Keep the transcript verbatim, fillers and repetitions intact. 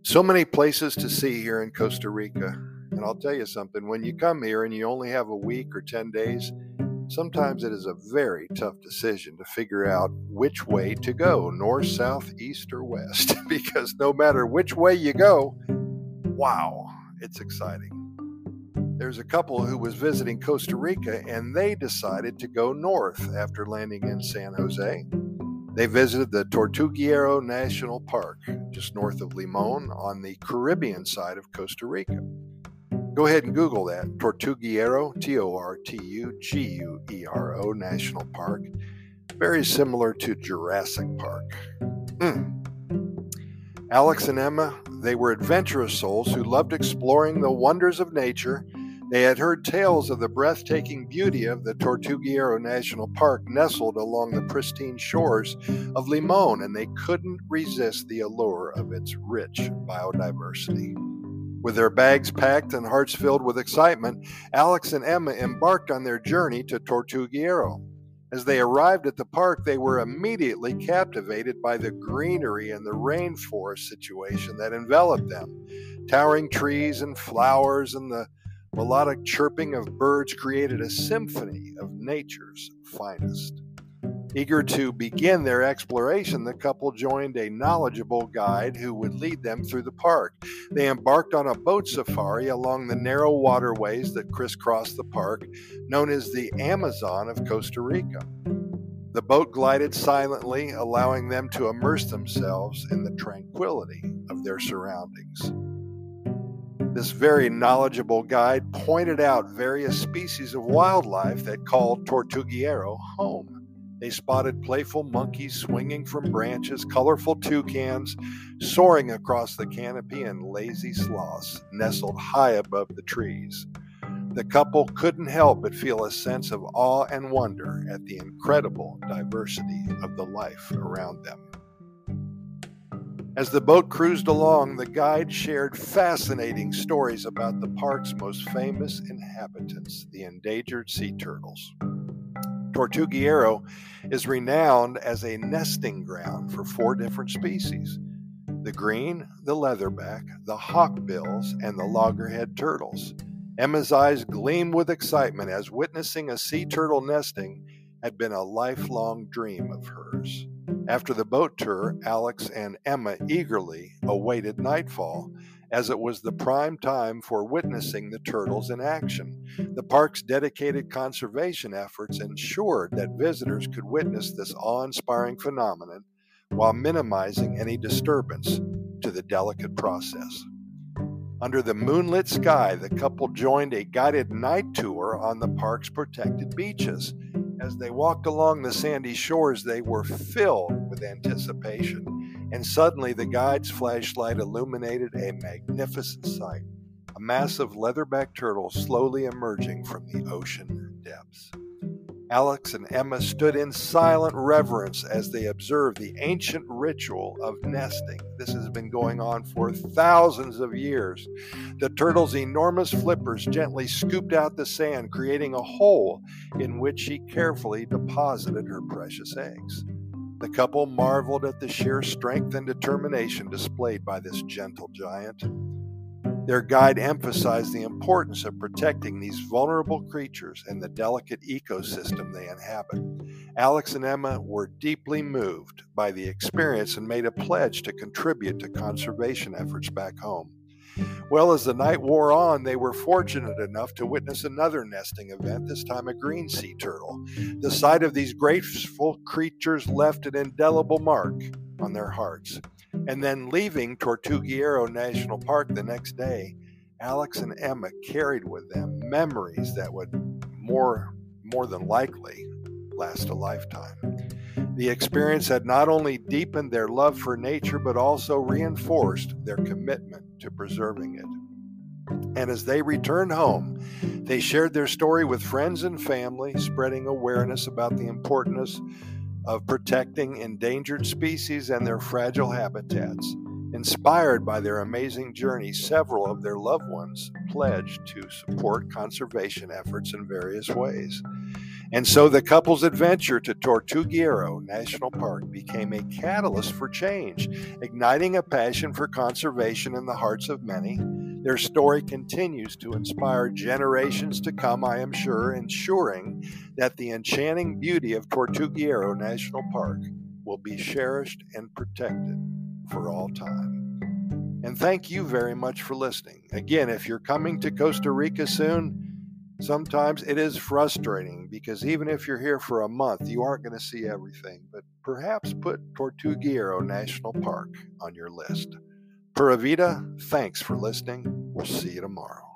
So many places to see here in Costa Rica. And I'll tell you something, when you come here and you only have a week or ten days, sometimes it is a very tough decision to figure out which way to go, north, south, east, or west. Because no matter which way you go, wow, it's exciting. There's a couple who was visiting Costa Rica and they decided to go north after landing in San Jose. They visited the Tortuguero National Park, just north of Limon, on the Caribbean side of Costa Rica. Go ahead and Google that, Tortuguero, T O R T U G U E R O, National Park. Very similar to Jurassic Park. Mm. Alex and Emma, they were adventurous souls who loved exploring the wonders of nature. They had heard tales of the breathtaking beauty of the Tortuguero National Park nestled along the pristine shores of Limon, and they couldn't resist the allure of its rich biodiversity. With their bags packed and hearts filled with excitement, Alex and Emma embarked on their journey to Tortuguero. As they arrived at the park, they were immediately captivated by the greenery and the rainforest situation that enveloped them. Towering trees and flowers and the melodic chirping of birds created a symphony of nature's finest. Eager to begin their exploration, the couple joined a knowledgeable guide who would lead them through the park. They embarked on a boat safari along the narrow waterways that crisscross the park, known as the Amazon of Costa Rica. The boat glided silently, allowing them to immerse themselves in the tranquility of their surroundings. This very knowledgeable guide pointed out various species of wildlife that called Tortuguero home. They spotted playful monkeys swinging from branches, colorful toucans soaring across the canopy, and lazy sloths nestled high above the trees. The couple couldn't help but feel a sense of awe and wonder at the incredible diversity of the life around them. As the boat cruised along, the guide shared fascinating stories about the park's most famous inhabitants, the endangered sea turtles. Tortuguero is renowned as a nesting ground for four different species: the green, the leatherback, the hawkbills, and the loggerhead turtles. Emma's eyes gleamed with excitement as witnessing a sea turtle nesting had been a lifelong dream of hers. After the boat tour, Alex and Emma eagerly awaited nightfall, as it was the prime time for witnessing the turtles in action. The park's dedicated conservation efforts ensured that visitors could witness this awe-inspiring phenomenon while minimizing any disturbance to the delicate process. Under the moonlit sky, the couple joined a guided night tour on the park's protected beaches. As they walked along the sandy shores, they were filled with anticipation, and suddenly the guide's flashlight illuminated a magnificent sight: a massive leatherback turtle slowly emerging from the ocean depths. Alex and Emma stood in silent reverence as they observed the ancient ritual of nesting. This has been going on for thousands of years. The turtle's enormous flippers gently scooped out the sand, creating a hole in which she carefully deposited her precious eggs. The couple marveled at the sheer strength and determination displayed by this gentle giant. Their guide emphasized the importance of protecting these vulnerable creatures and the delicate ecosystem they inhabit. Alex and Emma were deeply moved by the experience and made a pledge to contribute to conservation efforts back home. Well, as the night wore on, they were fortunate enough to witness another nesting event, this time a green sea turtle. The sight of these graceful creatures left an indelible mark on their hearts. And then, leaving Tortuguero National Park the next day, Alex and Emma carried with them memories that would more, more than likely last a lifetime. The experience had not only deepened their love for nature, but also reinforced their commitment to preserving it. And as they returned home, they shared their story with friends and family, spreading awareness about the importance of protecting endangered species and their fragile habitats. Inspired by their amazing journey, several of their loved ones pledged to support conservation efforts in various ways. And so the couple's adventure to Tortuguero National Park became a catalyst for change, igniting a passion for conservation in the hearts of many. Their story continues to inspire generations to come, I am sure, ensuring that the enchanting beauty of Tortuguero National Park will be cherished and protected for all time. And thank you very much for listening. Again, if you're coming to Costa Rica soon, sometimes it is frustrating because even if you're here for a month, you aren't going to see everything, but perhaps put Tortuguero National Park on your list. Pura Vida, thanks for listening. We'll see you tomorrow.